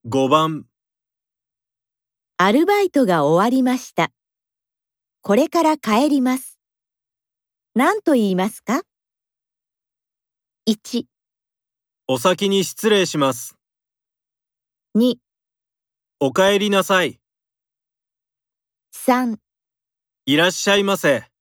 5番、 アルバイトが終わりました。これから帰ります。何と言いますか？ 1、 お先に失礼します。 2、 お帰りなさい。 3 いらっしゃいませ。